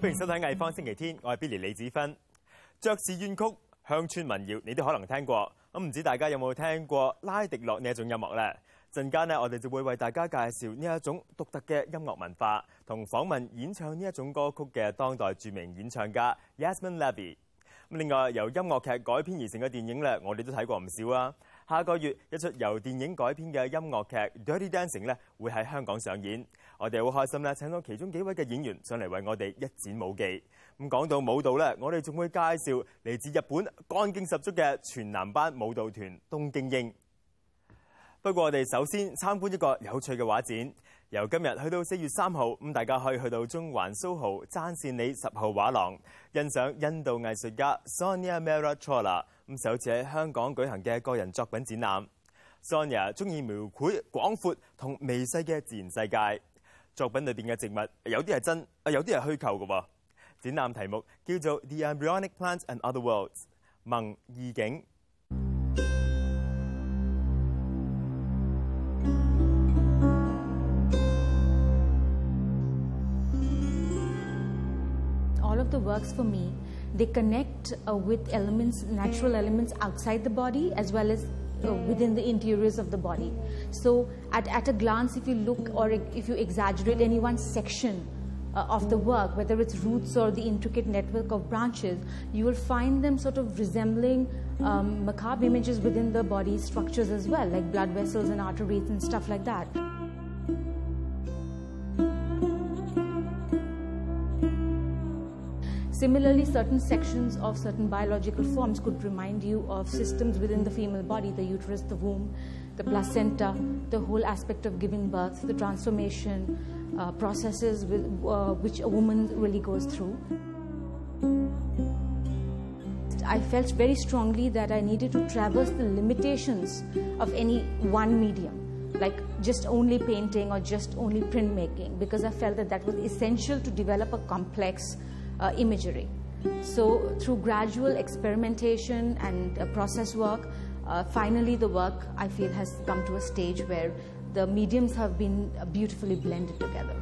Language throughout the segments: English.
歡迎收睇藝坊星期天，我係 Billy 李子芬。爵士怨曲、鄉村民謠，你都可能聽過。咁唔知大家有冇聽過拉迪諾呢一種音樂呢？陣間呢，我哋就會為大家介紹呢一種獨特嘅音樂文化，同訪問演唱呢一種歌曲嘅當代著名演唱家 Yasmin Levy。咁另外由音樂劇改編而成嘅電影咧，我哋都睇過唔少啊。下個月一出由電影改編嘅音樂劇《Dirty Dancing》咧，會喺香港上演。我哋好開心咧，請到其中幾位嘅演員上嚟為我哋一展舞技。咁講到舞蹈咧，我哋仲會介紹嚟自日本幹勁十足嘅全男班舞蹈團東京英。不過我哋首先參觀一個有趣嘅畫展，由今日去到4月3號，咁大家可以去到中環蘇豪爭善里10號畫廊，欣賞印度藝術家 Sonia Mehrotra 咁首次喺香港舉行嘅個人作品展覽。Sonia 中意描繪廣闊同微細嘅自然世界，作品裏邊嘅植物有啲係真，有啲係虛構嘅喎。展覽題目叫做 The Embryonic Plants and Other Worlds 萌異境。 All of the works for me, they connect with elements, natural elements outside the body as well as within the interiors of the body. So at a glance, if you look or if you exaggerate any one section of the work, whether it's roots or the intricate network of branches, you will find them sort of resembling macabre images within the body structures as well, like blood vessels and arteries and stuff like that. Similarly, certain sections of certain biological forms could remind you of systems within the female body, the uterus, the womb, the placenta, the whole aspect of giving birth, the transformation processes which a woman really goes through. I felt very strongly that I needed to traverse the limitations of any one medium, like just only painting or just only printmaking, because I felt that that was essential to develop a complex imagery. So through gradual experimentation and process work, finally the work I feel has come to a stage where the mediums have been beautifully blended together.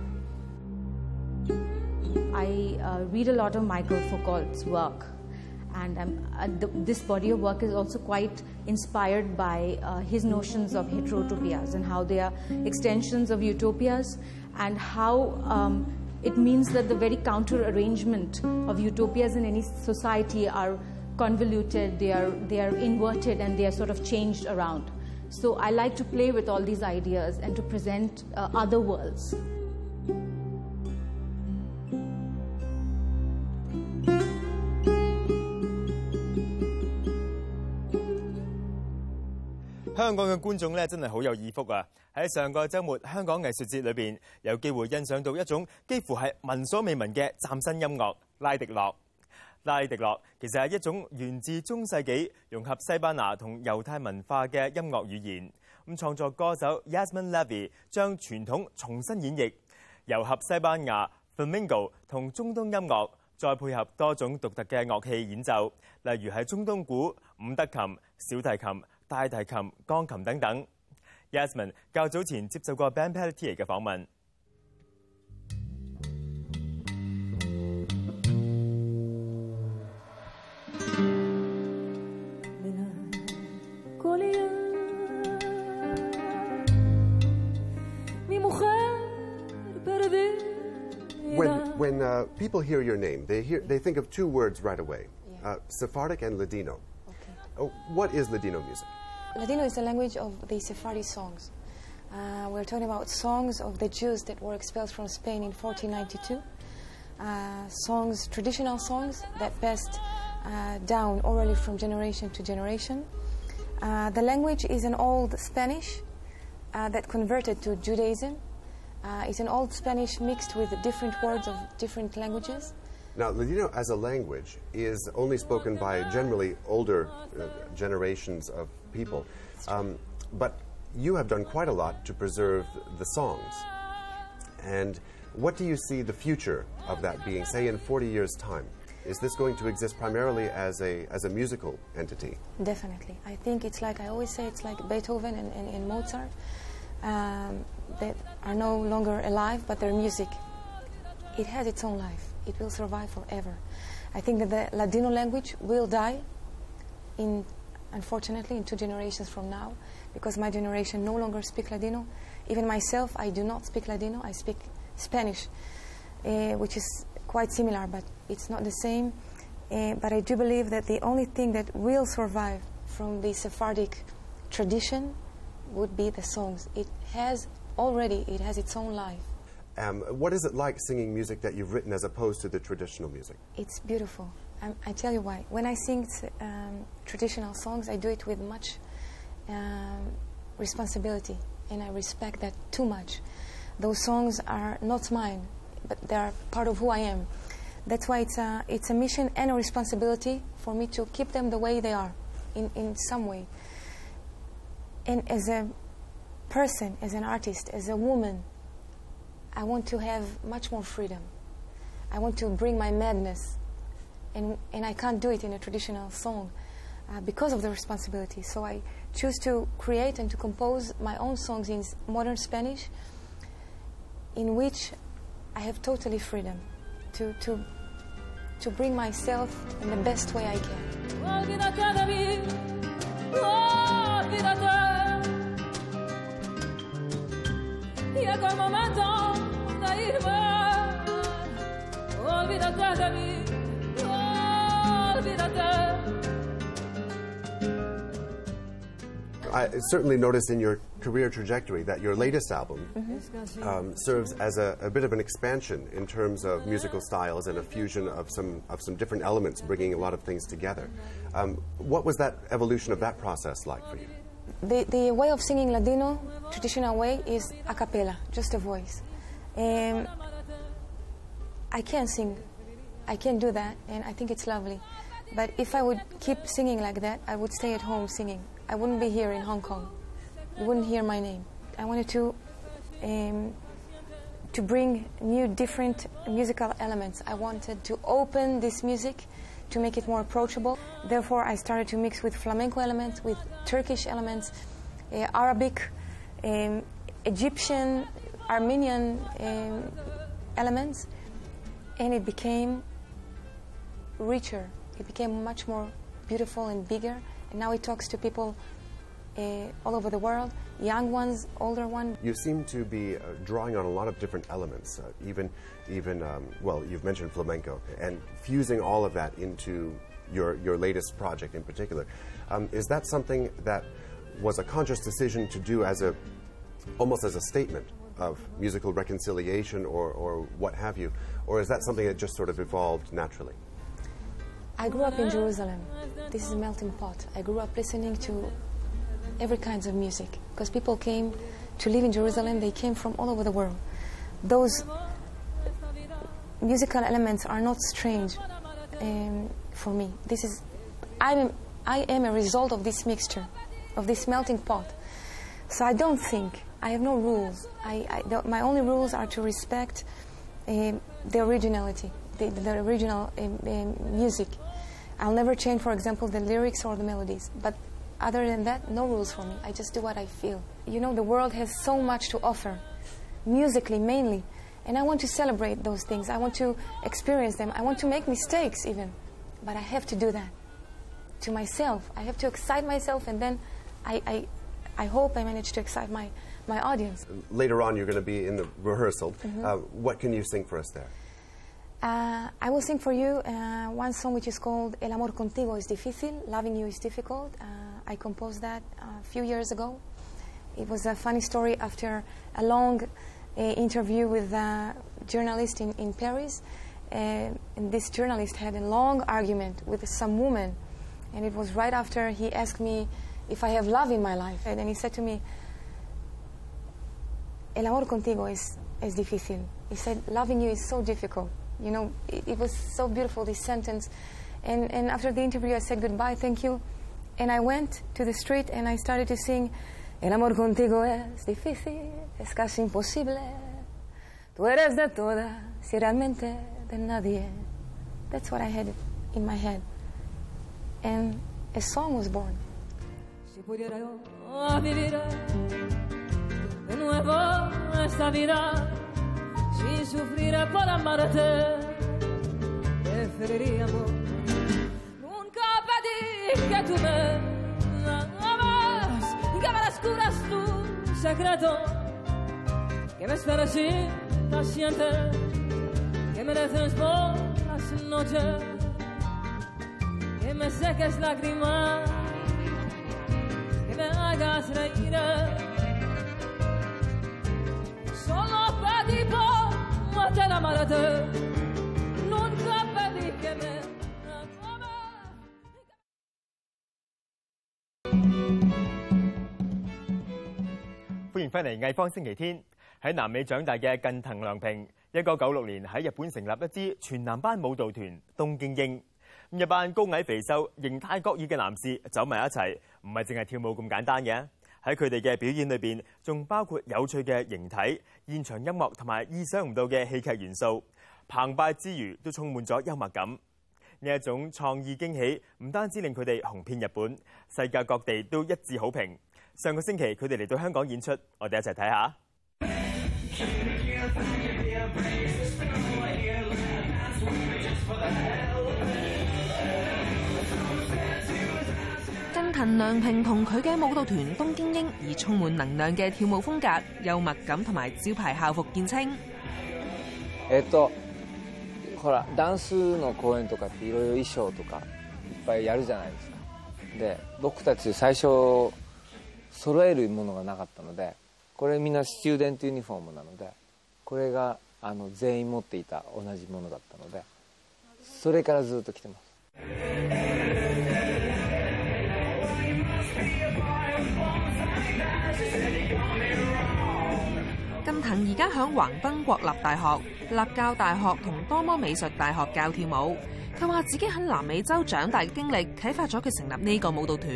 I read a lot of Michael Foucault's work, and this body of work is also quite inspired by his notions of heterotopias and how they are extensions of utopias, and how it means that the very counter arrangement of utopias in any society are convoluted, they are inverted, and they are sort of changed around. So I like to play with all these ideas and to present other worlds. 香港嘅觀眾咧真係好有耳福啊！喺上個週末香港藝術節裏邊，有機會欣賞到一種幾乎係聞所未聞嘅嶄新音樂——拉迪諾。拉迪諾其實係一種源自中世紀、融合西班牙同猶太文化嘅音樂語言。咁創作歌手 Yasmin Levy 將傳統重新演繹，糅合西班牙 Flamenco 同中東音樂，再配合多種獨特嘅樂器演奏，例如係中東鼓、伍德琴、小提琴、大提琴、鋼琴等等。Yasmin 較早前接受過 Ben Pelletier 嘅訪問。 When people hear your name, they think of two words right away, Sephardic and Ladino. Okay. What is Ladino music? Ladino is the language of the Sephardi songs. We're talking about songs of the Jews that were expelled from Spain in 1492. Songs, traditional songs that passed down orally from generation to generation. The language is an old Spanish that converted to Judaism. It's an old Spanish mixed with different words of different languages. Now, Ladino as a language is only spoken by generally older generations of people. But you have done quite a lot to preserve the songs. And what do you see the future of that being, say, in 40 years' time? Is this going to exist primarily as a musical entity? Definitely. I think it's like, I always say, it's like Beethoven and Mozart. That are no longer alive, but their music, it has its own life. it will survive forever. I think that the Ladino language will die, unfortunately, in 2 generations from now, because my generation no longer speak Ladino. Even myself, I do not speak Ladino. I speak Spanish, which is quite similar, but it's not the same. But I do believe that the only thing that will survive from the Sephardic tradition would be the songs. It has its own life. What is it like singing music that you've written as opposed to the traditional music? It's beautiful. I tell you why. When I sing traditional songs, I do it with much responsibility, and I respect that too much. Those songs are not mine, but they are part of who I am. That's why it's a mission and a responsibility for me to keep them the way they are, in some way. And as a person, as an artist, as a woman, I want to have much more freedom. I want to bring my madness, and I can't do it in a traditional song because of the responsibility. So I choose to create and to compose my own songs in modern Spanish, in which I have totally freedom to bring myself in the best way I can. Olvídate de mí, olvídate. Llega el momento de irme. Olvídate de mí, olvídate. I certainly noticed in your career trajectory that your latest album serves as a bit of an expansion in terms of musical styles and a fusion of some different elements, bringing a lot of things together. What was that evolution of that process like for you? The way of singing Ladino, traditional way, is a cappella, just a voice. I can sing, I can do that, and I think it's lovely. But if I would keep singing like that, I would stay at home singing. I wouldn't be here in Hong Kong. You wouldn't hear my name. I wanted to bring new, different musical elements. I wanted to open this music to make it more approachable. Therefore, I started to mix with flamenco elements, with Turkish elements, Arabic, Egyptian, Armenian elements, and it became richer. It became much more beautiful and bigger. And now it talks to people all over the world, young ones, older ones. You seem to be drawing on a lot of different elements, even well, you've mentioned flamenco, and fusing all of that into your latest project in particular. Is that something that was a conscious decision to do as almost as a statement of musical reconciliation or what have you, or is that something that just sort of evolved naturally? I grew up in Jerusalem. This is a melting pot. I grew up listening to every kinds of music because people came to live in Jerusalem. They came from all over the world. Those musical elements are not strange for me. I am a result of this mixture, of this melting pot. So I don't think, I have no rules. My only rules are to respect the originality, the original music. I'll never change, for example, the lyrics or the melodies. But other than that, no rules for me. I just do what I feel. You know, the world has so much to offer, musically mainly. And I want to celebrate those things. I want to experience them. I want to make mistakes even. But I have to do that to myself. I have to excite myself, and then I hope I manage to excite my audience. Later on, you're going to be in the rehearsal. What can you sing for us there? I will sing for you one song which is called El amor contigo es difícil, loving you is difficult. I composed that a few years ago. It was a funny story after a long interview with a journalist in Paris. And this journalist had a long argument with some woman. And it was right after he asked me if I have love in my life. And then he said to me, El amor contigo es difícil. He said, loving you is so difficult. You know, it was so beautiful, this sentence. And after the interview, I said goodbye, thank you. And I went to the street and I started to sing, El amor contigo es difícil, es casi imposible. Tú eres de todas, si realmente de nadie. That's what I had in my head. And a song was born. Si pudiera yo vivir de nuevo esta vida sin sufrir por amarte, preferiríamos. Nunca pedí que tú me amas, que me descubras tu secreto, que me esperes impaciente, que me dejes por las noches, que me seques lágrimas, que me hagas reír. Solo pedí por te amarte, nunca pedí que me ames. 歡迎翻嚟藝方星期天。喺南美長大嘅近藤良平，1996年喺日本成立一支全男班舞蹈團東京鷹。一班高矮肥瘦、形態各異嘅男士走埋一齊，唔係淨係跳舞咁簡單嘅。喺佢哋嘅表演裏邊，仲包括有趣嘅形體、現場音樂同埋意想唔到嘅戲劇元素。澎湃之餘，都充滿咗幽默感。呢一種創意驚喜，唔單止令佢哋紅遍日本，世界各地都一致好評。上個星期佢哋嚟到香港演出，我哋一齊睇下。 近藤良平同佢嘅舞蹈團東京鷹以充滿能量嘅跳舞風格、幽默感同埋招牌校服見稱。 ほらダンスの公演とかっていろいろ衣装とかいっぱいやるじゃないですか。で僕たち最初揃えるものがなかったので、これみんなスチューデントユニフォームなので、これが全員持っていた同じものだったので、それからずっと着てます。 近藤而家響橫濱國立大學、立教大學同多摩美術大學教跳舞。佢話自己喺南美洲長大嘅經歷啟發咗佢成立呢個舞蹈團。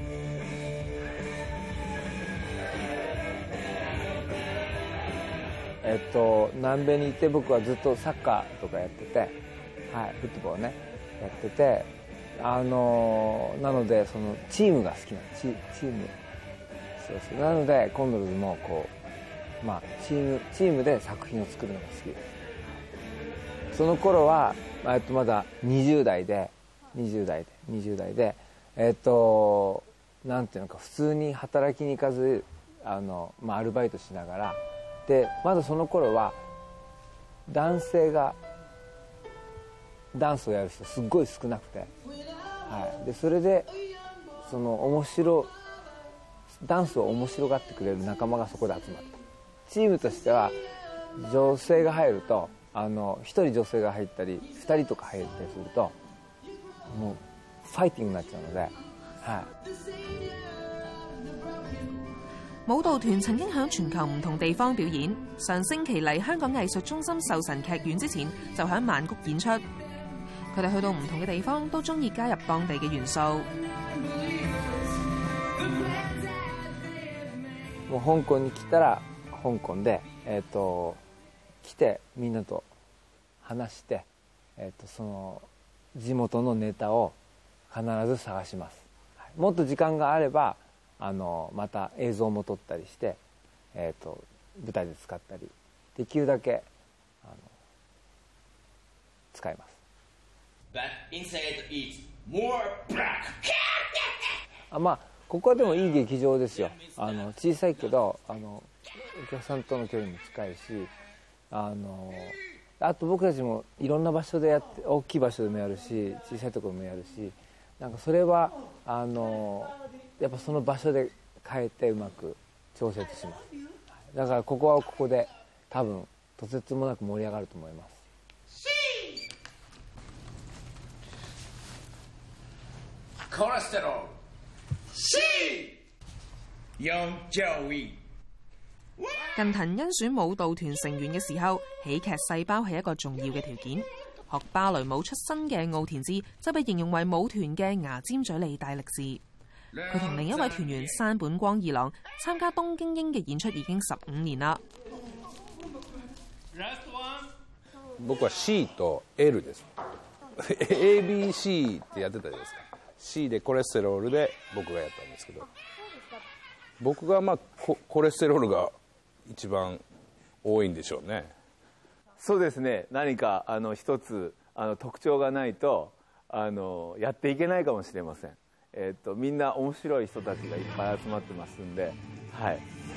南米にいて僕はずっとサッカーとかやってて、はい、フットボールねやってて、なのでそのチームが好きなチーム、そうなのでコンドルズもこう、まあ、チームで作品を作るのが好きです。その頃は、まだ20代でなんていうのか普通に働きに行かずアルバイトしながらで、まだその頃は男性がダンスをやる人すっごい少なくて、はい、でそれでそのダンスを面白がってくれる仲間がそこで集まった。チームとしては女性が入ると1人女性が入ったり2人とか入ったりするともうファイティングになっちゃうので、はい。 舞蹈團曾經響全球唔同地方表演，上星期嚟香港藝術中心壽臣劇院之前，就喺曼谷演出。佢哋去到唔同嘅地方，都中意加入當地嘅元素。 もう香港に来たら香港で、来てみんなと話して、その地元のネタを必ず探します。もっと時間があればまた映像も撮ったりして、舞台で使ったりできるだけ使います。 But inside is more black. まあここはでもいい劇場ですよ。小さいけどお客さんとの距離も近いし、あと僕たちもいろんな場所でやって、大きい場所でもやるし小さいところもやるし、なんかそれはやっぱその場所で変えてうまく調節します。だからここはここで多分とてつもなく盛り上がると思います。 コレステロール C 用就醫。 近藤甄選舞蹈團成員嘅時候，喜劇細胞係一個重要嘅條件。學芭蕾舞出身嘅奧田智就被形容為舞團嘅牙尖嘴利大力士。佢同另一位團員山本光二郎參加東京鷹嘅演出已經15年啦。 僕は C と L です。ABC ってやってたじゃないですか。C でコレステロールで僕がやったんですけど、僕がコレステロールが一番多いんでしょうね。 そうですね。何か一つ特徴がないとやっていけないかもしれません。みんな面白い人たちがいっぱい集まってますんで、はい。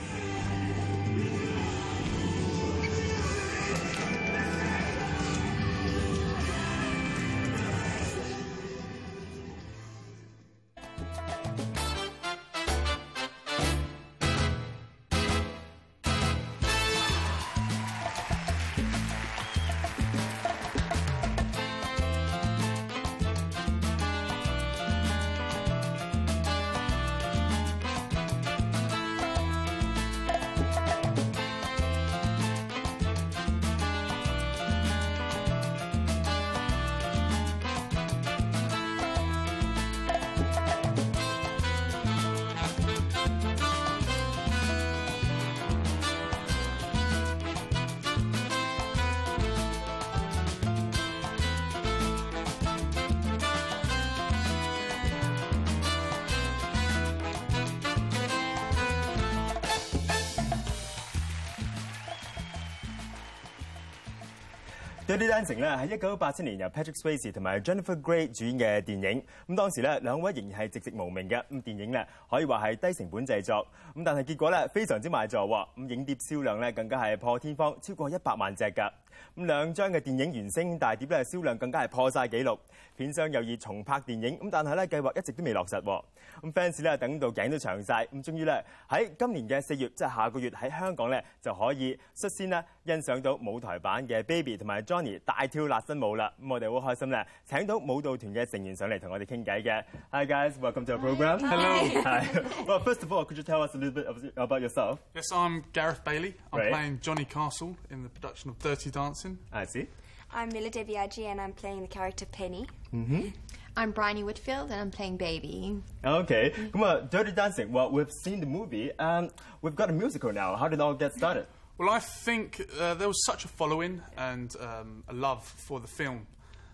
Dirty Dancing 咧係1987年由 Patrick Swayze 同埋 Jennifer Grey 主演嘅電影。咁當時咧兩位仍然係寂寂無名嘅。咁電影咧可以話係低成本製作。咁但係結果咧非常之賣座喎。咁影碟銷量咧更加係破天荒，超過100萬隻㗎。咁兩張嘅電影原聲大碟咧銷量更加係破晒紀錄。片商又要重拍電影，咁但係咧計劃一直都未落實喎。咁 fans 咧等到頸都長晒，咁終於咧喺今年嘅4月，即係下個月喺香港咧就可以率先咧欣賞到舞台版嘅 Baby 同埋 Johnny 大跳辣身舞啦。咁我哋好開心咧，請到舞蹈團嘅成員上嚟同我哋傾偈嘅。Hi guys, welcome to our program. Hello. Hi. Well, first of all, could you tell us a little bit about yourself? Yes, I'm Gareth Bailey. I'm Right. playing Johnny Castle in the production of Dirty Dancing. I see. I'm Mila Debiaggi and I'm playing the character Penny. Mm-hmm. I'm Bryony Whitfield and I'm playing Baby. Okay. Dirty Dancing. Well, we've seen the movie and we've got a musical now. How did it all get started? Well, I think there was such a following and a love for the film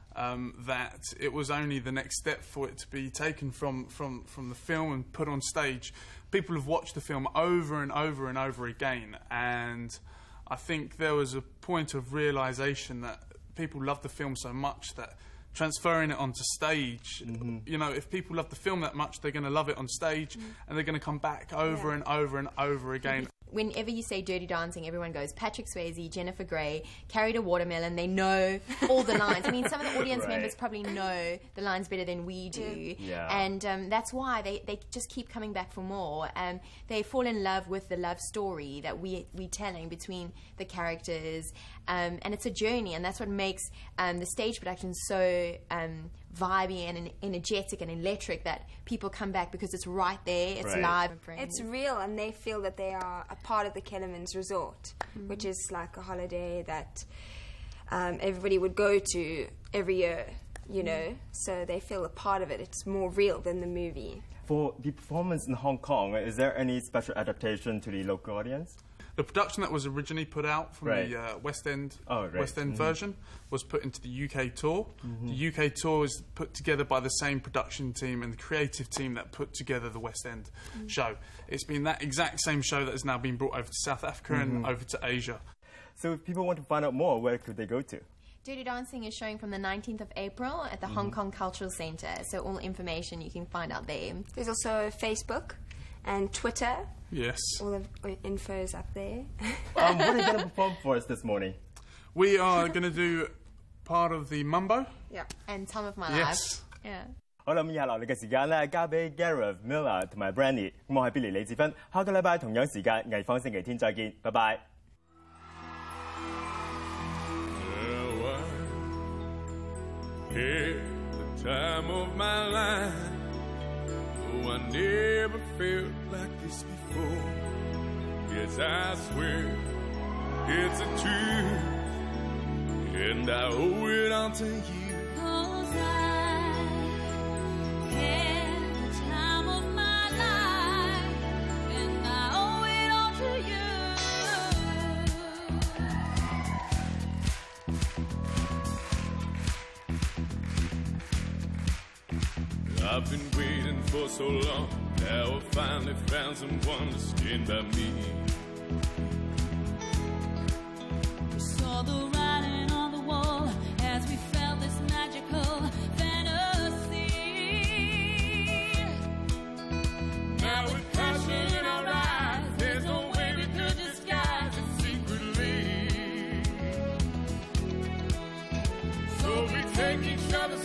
that it was only the next step for it to be taken from the film and put on stage. People have watched the film over and over and over again, and I think there was a point of realisation that people loved the film so much that transferring it onto stage, you know, if people love the film that much, they're going to love it on stage and they're going to come back over and over and over again. Whenever you say Dirty Dancing, everyone goes Patrick Swayze, Jennifer Grey, carried a watermelon. They know all the lines. I mean, some of the audience members probably know the lines better than we do. Yeah. And that's why they just keep coming back for more. They fall in love with the love story that we're telling between the characters. And it's a journey, and that's what makes the stage production so vibey and energetic and electric, that people come back because it's right there, it's live. It's real, and they feel that they are a part of the Kellerman's Resort, which is like a holiday that everybody would go to every year, you know, so they feel a part of it. It's more real than the movie. For the performance in Hong Kong, is there any special adaptation to the local audience? The production that was originally put out from the West End version was put into the UK tour. The UK tour is put together by the same production team and the creative team that put together the West End show. It's been that exact same show that has now been brought over to South Africa and over to Asia. So if people want to find out more, where could they go to? Dirty Dancing is showing from the 19th of April at the Hong Kong Cultural Centre, so all information you can find out there. There's also Facebook and Twitter. Yes. All the info is up there. What are you going to perform for us this morning? We are going to do part of the Mumbo. Yeah. And Time of My Life. Yeah. 好啦，咁以下落嚟嘅時間咧，交俾 Gareth、Mila 同埋 Brandy。咁我係 Billy 李志芬，下個禮拜同樣時間藝坊星期天再見，拜拜。 At the time of my life, oh, I never felt like this before. Yes, I swear it's a truth, and I owe it all to you. 'Cause I had the time of my life, and I owe it all to you. I've been waiting for so long. Now I finally found someone to stand by me. We saw the writing on the wall as we felt this take each other's